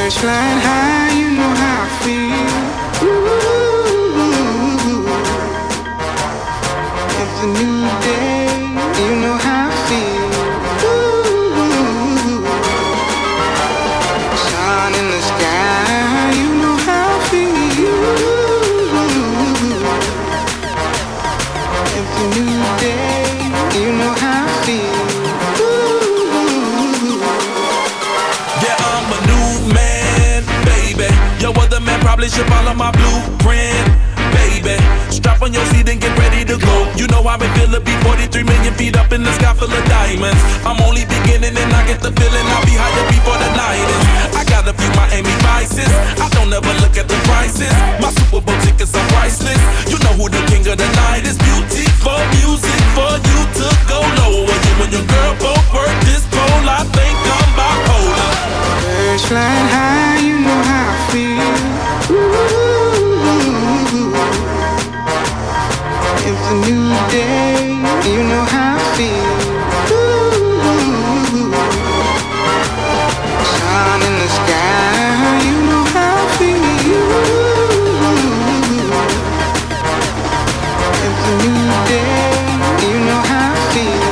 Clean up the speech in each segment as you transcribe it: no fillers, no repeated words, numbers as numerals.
Flying high, you know how I feel. Ooh, it's a new day, you know how I feel. Ooh, sun in the sky, you know how I feel. It's a new day, you know how I feel. Yeah, I'm a new man, baby. Yo, other man probably should follow my blueprint, baby. Strap on your seat and get ready to go. You know how it feel to be 43 million feet up in the sky full of diamonds. I'm only beginning and I get the feeling I'll be higher before the night is. I got a few Miami Vices. I don't ever look at the prices. My Super Bowl tickets are priceless. You know who the king of the night is. Beauty for music for you to go lower. You and your girl both work this pole. I think I'm bipolar. Birds flying high, you know how I feel. Ooh, it's a new day, you know how I feel. Ooh, sun in the sky, you know how I feel. It's a new day, you know how I feel.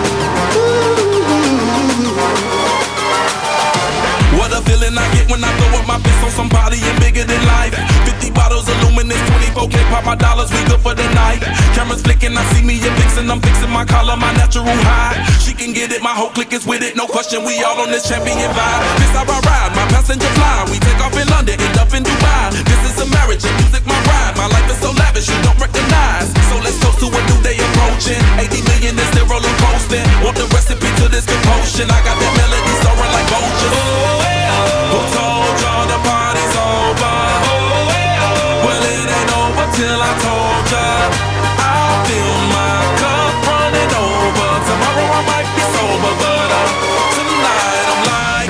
What a feeling I get when I throw up my fist on somebody and bigger than life. 50 bottles of luminous, 24K, pop my dollars, we good for the night. Cameras flicking, I see me and fixing, I'm fixing my collar, my natural high. She can get it, my whole clique is with it, no question, we all on this champion vibe. This how I ride, my passenger fly. We take off in London, end up in Dubai. This is a marriage, and music my ride. My life is so lavish, you don't recognize. So let's toast to a new day approaching. 80 million is still rolling coasting. Want the recipe to this commotion? I got that melody soaring like vultures. Who told y'all the party's over? Well, it ain't over till I told ya. I feel my cup running over. Tomorrow I might be sober, but tonight I'm like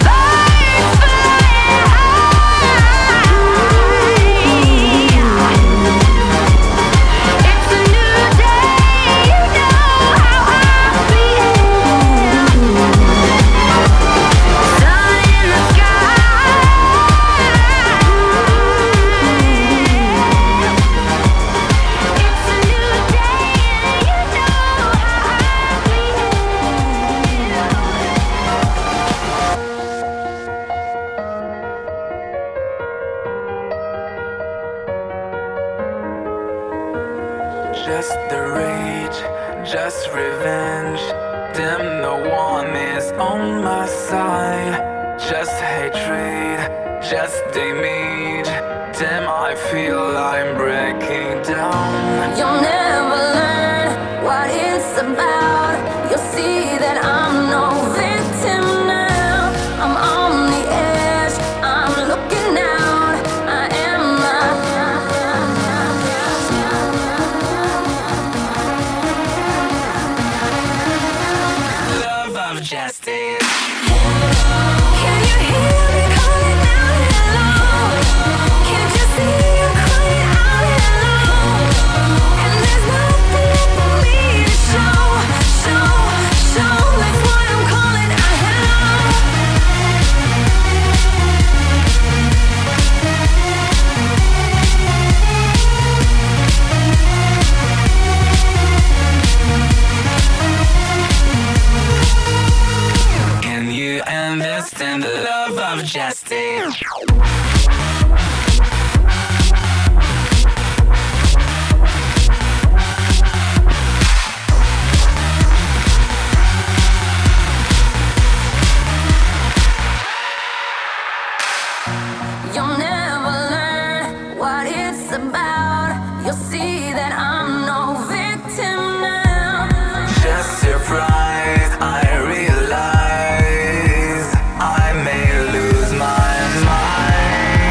It's a new day, you know how I feel. Sun in the sky. It's a new day, and you know how I Just the rage, just revenge. Damn, no one is on my side. Just hatred, just damage. Damn, I feel I'm breaking down. You'll never learn what it's about. You'll see that I'm no victim now. I'm on the edge, I'm looking out. I am Love of justice. Can you hear me calling out hello? Can't you see I'm crying out hello? And there's nothing left for me to show. That's why I'm calling out Can you understand the love of justice? You'll never learn what it's about. You'll see that I'm no victim now. Just surprised, I realize I may lose my mind.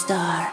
star.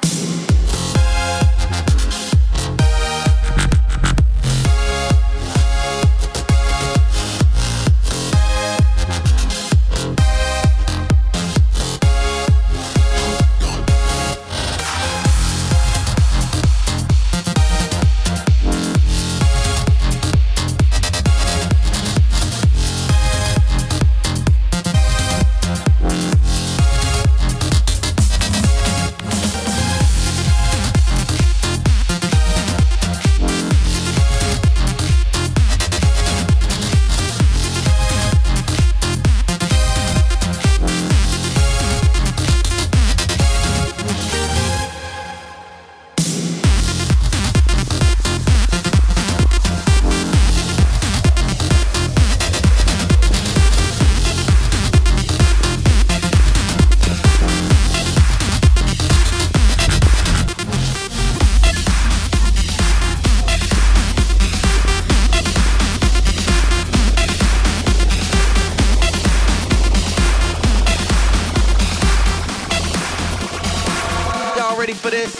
Ready for this?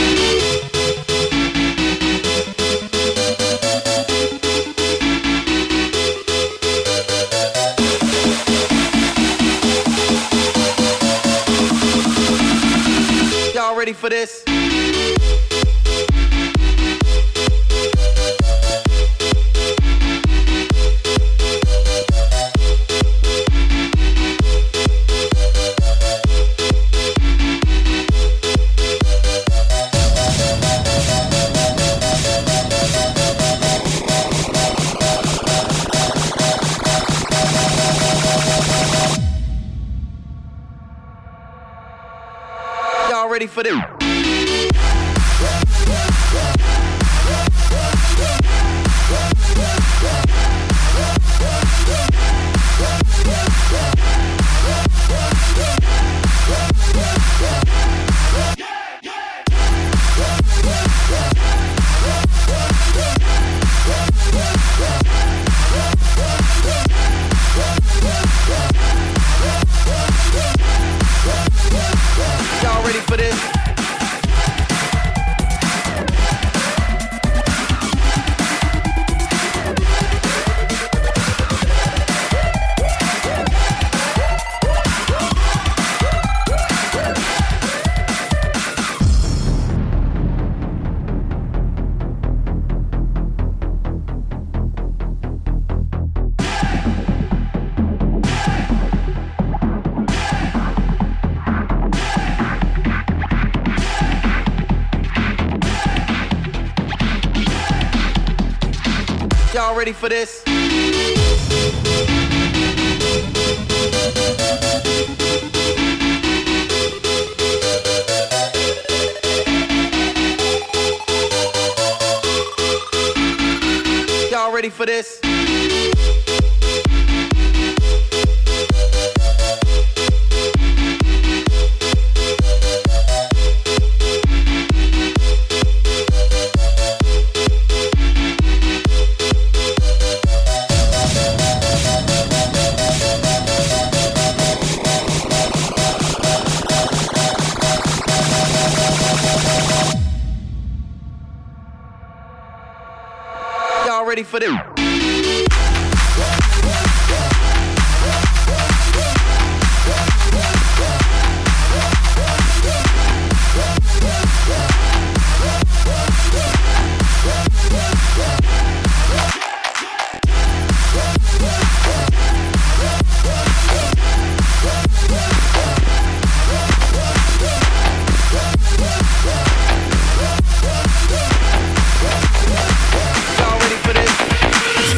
Y'all ready for this? Y'all ready for this? Y'all ready for this? Y'all ready for this? Y'all ready for this? Y'all ready for this? Y'all ready for this?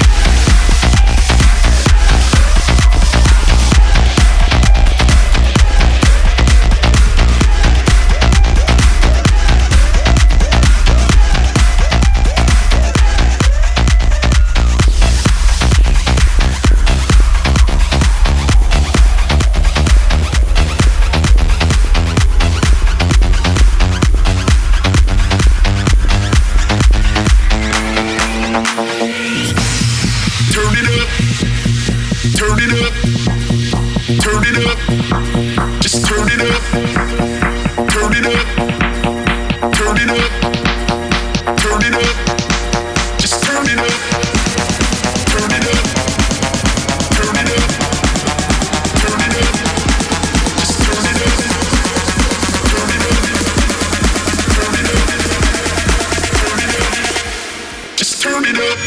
Just turn it up.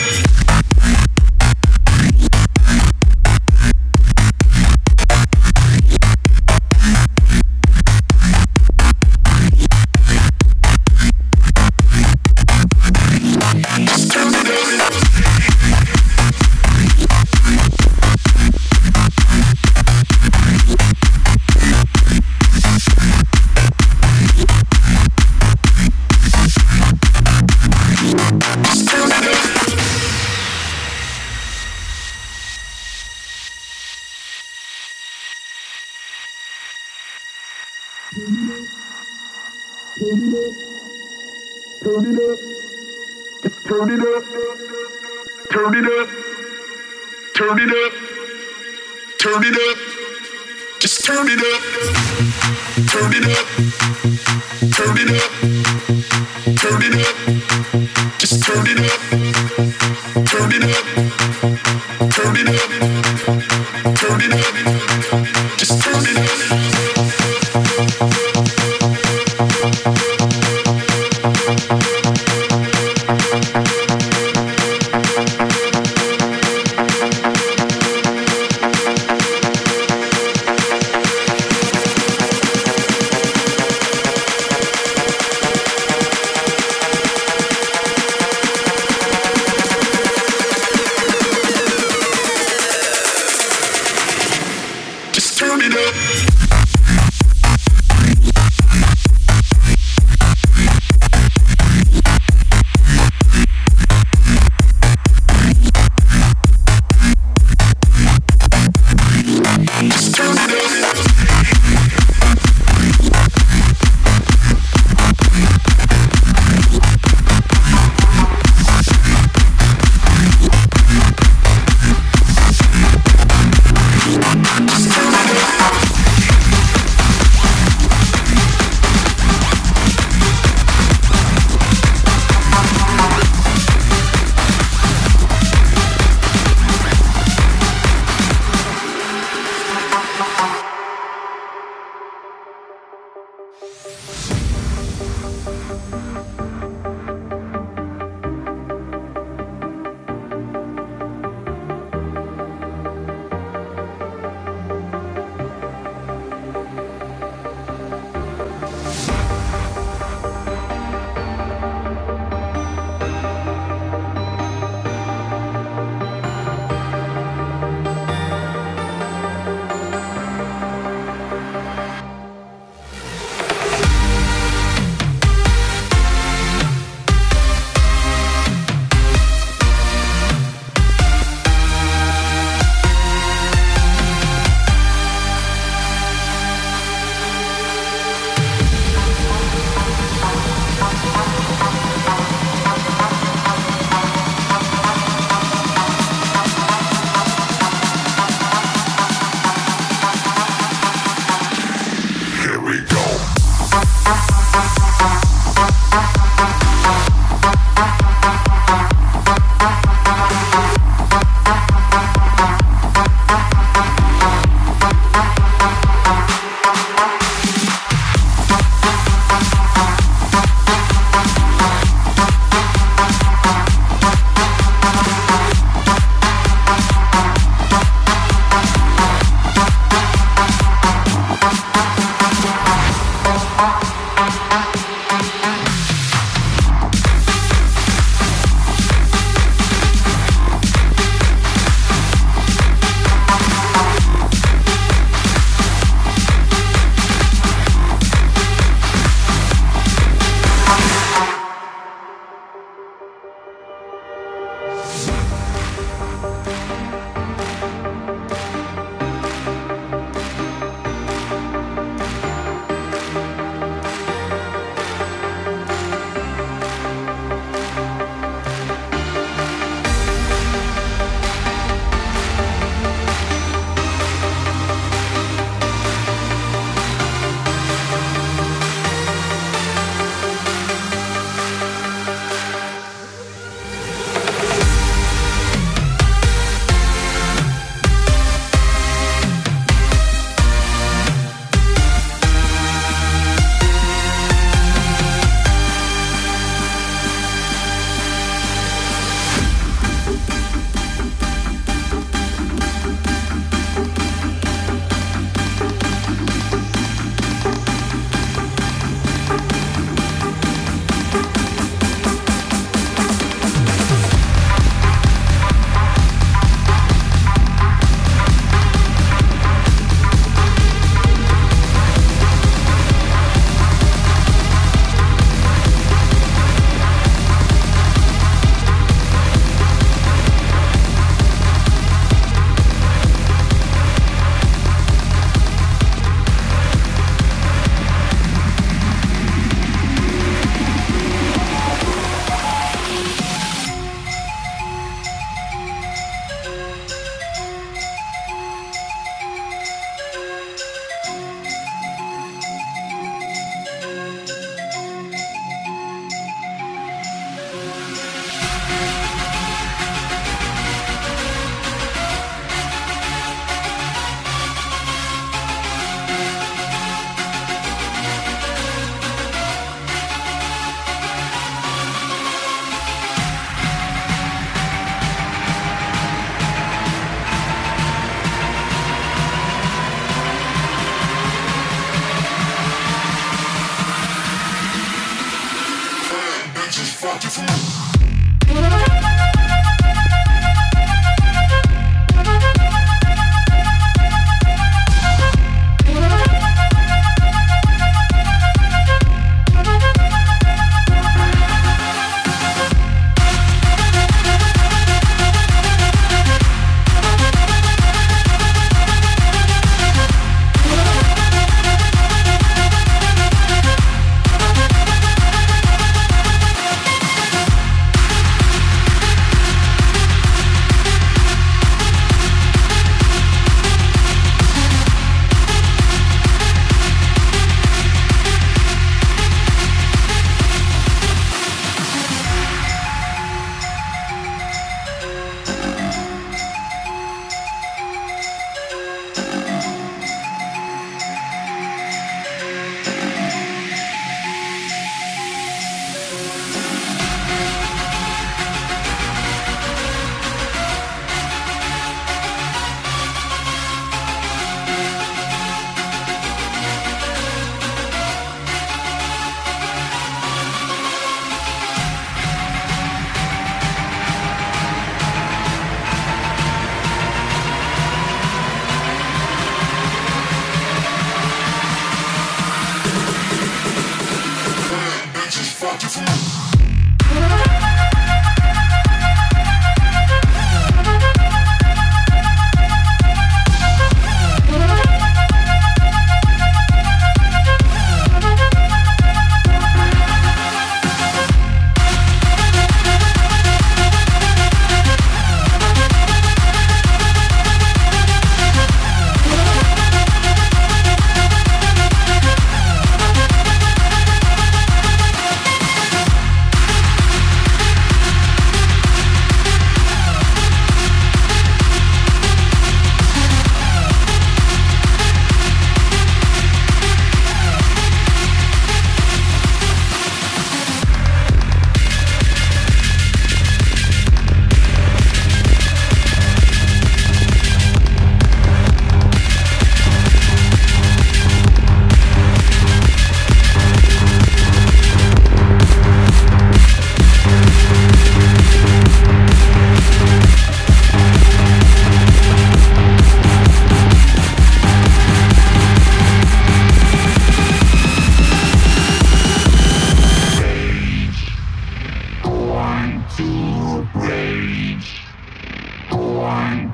Turn it up.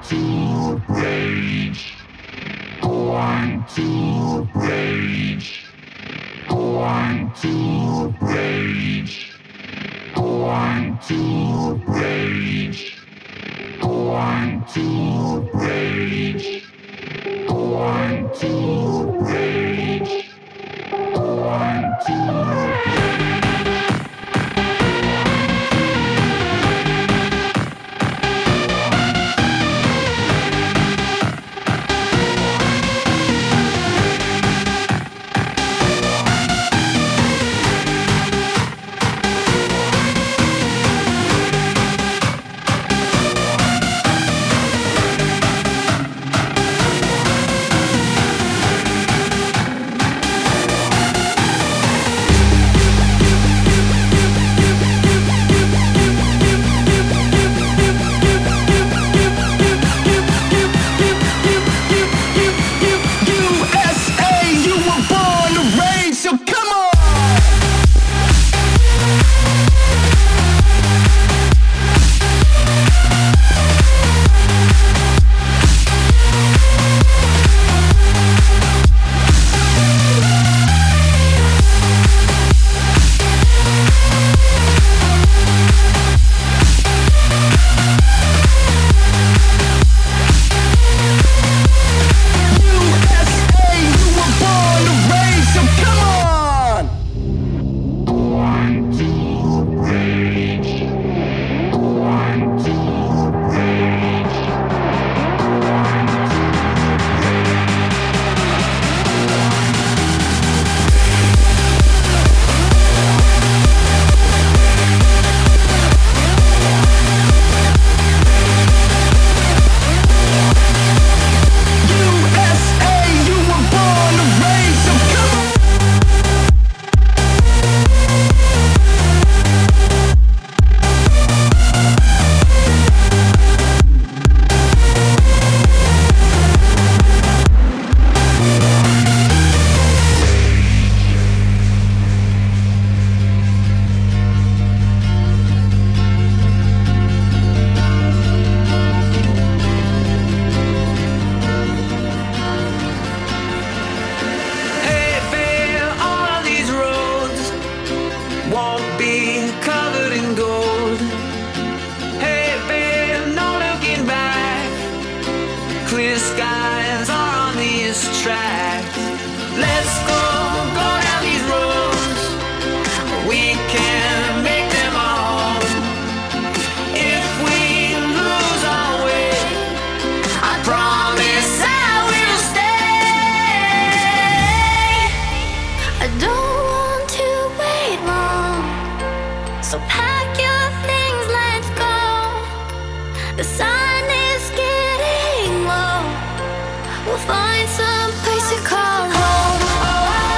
We'll find some place to call home.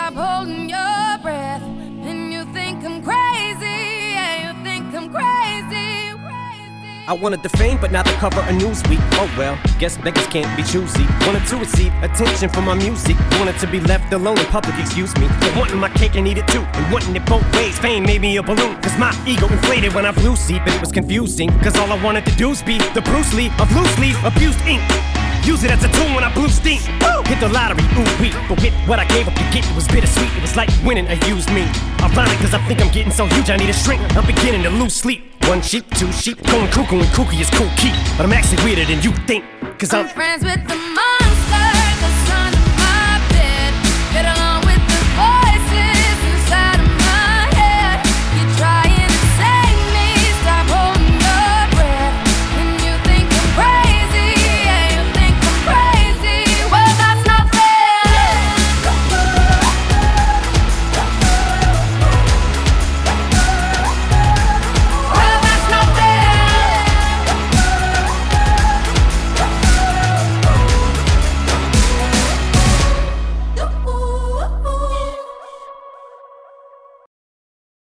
stop holding your breath. And you think I'm crazy, yeah, you think I'm crazy, crazy. I wanted the fame, but not the cover of Newsweek. Oh well, guess beggars can't be choosy. Wanted to receive attention from my music. Wanted to be left alone in public, excuse me. But wanting my cake and eat it too, and wanting it both ways. Fame made me a balloon, cause my ego inflated when I flew seat. But it was confusing, cause all I wanted to do was be the Bruce Lee of loosely abused ink. Use it as a tool when I blew steam. Woo! Hit the lottery, ooh wee. But with what I gave up to get, it was bittersweet. It was like winning a used me. Ironic, cause I think I'm getting so huge I need a shrink. I'm beginning to lose sleep. One sheep, two sheep, going cuckoo and kooky is cool key. But I'm actually weirder than you think, cause I'm friends with the money.